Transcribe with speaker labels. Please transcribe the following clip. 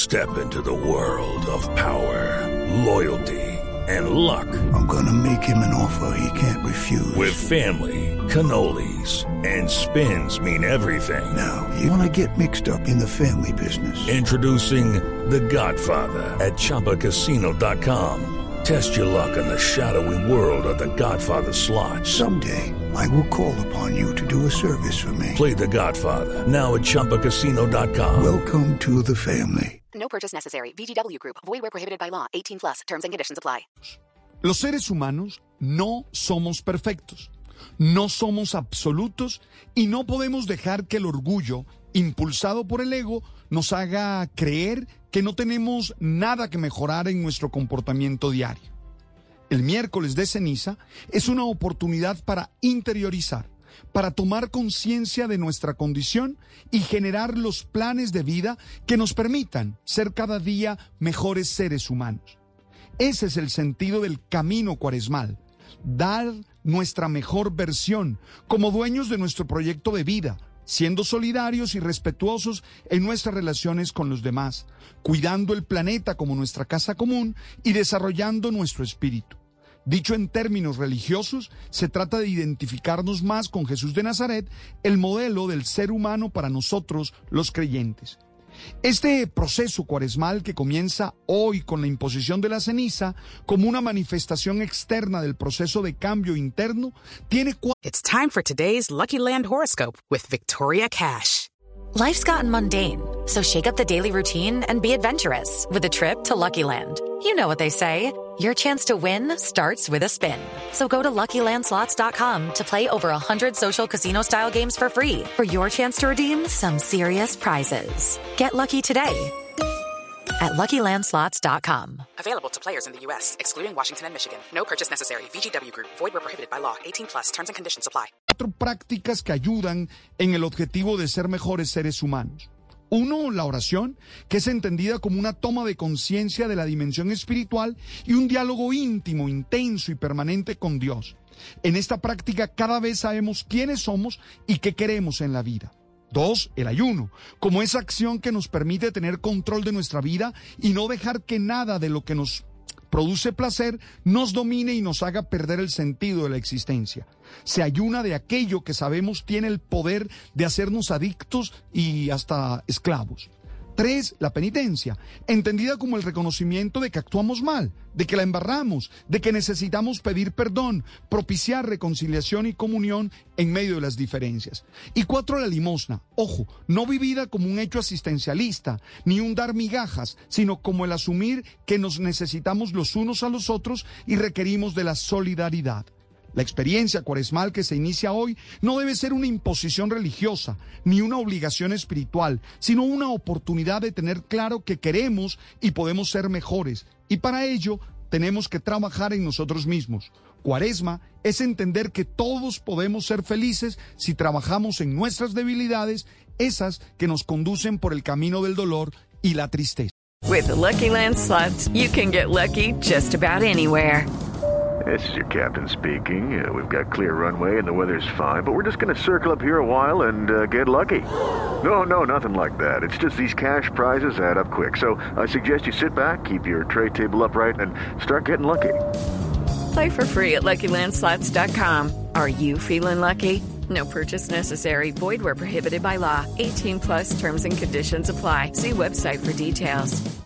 Speaker 1: Step into the world of power, loyalty, and luck.
Speaker 2: I'm gonna make him an offer he can't refuse.
Speaker 1: With family, cannolis, and spins mean everything.
Speaker 2: Now, you wanna get mixed up in the family business.
Speaker 1: Introducing The Godfather at ChumbaCasino.com. Test your luck in the shadowy world of The Godfather slot.
Speaker 2: Someday, I will call upon you to do a service for me.
Speaker 1: Play The Godfather now at ChumbaCasino.com.
Speaker 2: Welcome to the family.
Speaker 3: No purchase necessary. VGW Group. Void where prohibited by law. 18 plus. Terms and conditions apply.
Speaker 4: Los seres humanos no somos perfectos, no somos absolutos y no podemos dejar que el orgullo, impulsado por el ego, nos haga creer que no tenemos nada que mejorar en nuestro comportamiento diario. El miércoles de ceniza es una oportunidad para interiorizar, para tomar conciencia de nuestra condición y generar los planes de vida que nos permitan ser cada día mejores seres humanos. Ese es el sentido del camino cuaresmal, dar nuestra mejor versión como dueños de nuestro proyecto de vida, siendo solidarios y respetuosos en nuestras relaciones con los demás, cuidando el planeta como nuestra casa común y desarrollando nuestro espíritu. Dicho en términos religiosos, se trata de identificarnos más con Jesús de Nazaret, el modelo del ser humano para nosotros los creyentes. Este proceso cuaresmal que comienza hoy con la imposición de la ceniza como una manifestación externa del proceso de cambio interno tiene
Speaker 5: It's time for today's Lucky Land horoscope with Victoria Cash.
Speaker 6: Life's gotten mundane, so shake up the daily routine and be adventurous with a trip to Lucky Land. You know what they say, your chance to win starts with a spin. So go to LuckyLandSlots.com to play over 100 social casino-style games for free for your chance to redeem some serious prizes. Get lucky today at LuckyLandSlots.com.
Speaker 5: Available to players in the U.S., excluding Washington and Michigan. No purchase necessary. VGW Group. Void where prohibited by law. 18 plus. Terms and conditions apply.
Speaker 4: 4 prácticas que ayudan en el objetivo de ser mejores seres humanos. 1, la oración, que es entendida como una toma de conciencia de la dimensión espiritual y un diálogo íntimo, intenso y permanente con Dios. En esta práctica cada vez sabemos quiénes somos y qué queremos en la vida. 2, el ayuno, como esa acción que nos permite tener control de nuestra vida y no dejar que nada de lo que nos produce placer nos domine y nos haga perder el sentido de la existencia. Se ayuna de aquello que sabemos tiene el poder de hacernos adictos y hasta esclavos. 3, la penitencia, entendida como el reconocimiento de que actuamos mal, de que la embarramos, de que necesitamos pedir perdón, propiciar reconciliación y comunión en medio de las diferencias. Y 4, la limosna, ojo, no vivida como un hecho asistencialista, ni un dar migajas, sino como el asumir que nos necesitamos los unos a los otros y requerimos de la solidaridad. La experiencia cuaresmal que se inicia hoy no debe ser una imposición religiosa ni una obligación espiritual, sino una oportunidad de tener claro que queremos y podemos ser mejores. Y para ello tenemos que trabajar en nosotros mismos. Cuaresma es entender que todos podemos ser felices si trabajamos en nuestras debilidades, esas que nos conducen por el camino del dolor y la tristeza.
Speaker 7: With the Lucky Land Slots, you can get lucky just about anywhere.
Speaker 8: This is your captain speaking. We've got clear runway and the weather's fine, but we're just going to circle up here a while and get lucky. No, nothing like that. It's just these cash prizes add up quick. So I suggest you sit back, keep your tray table upright, and start getting lucky.
Speaker 7: Play for free at LuckyLandSlots.com. Are you feeling lucky? No purchase necessary. Void where prohibited by law. 18 plus terms and conditions apply. See website for details.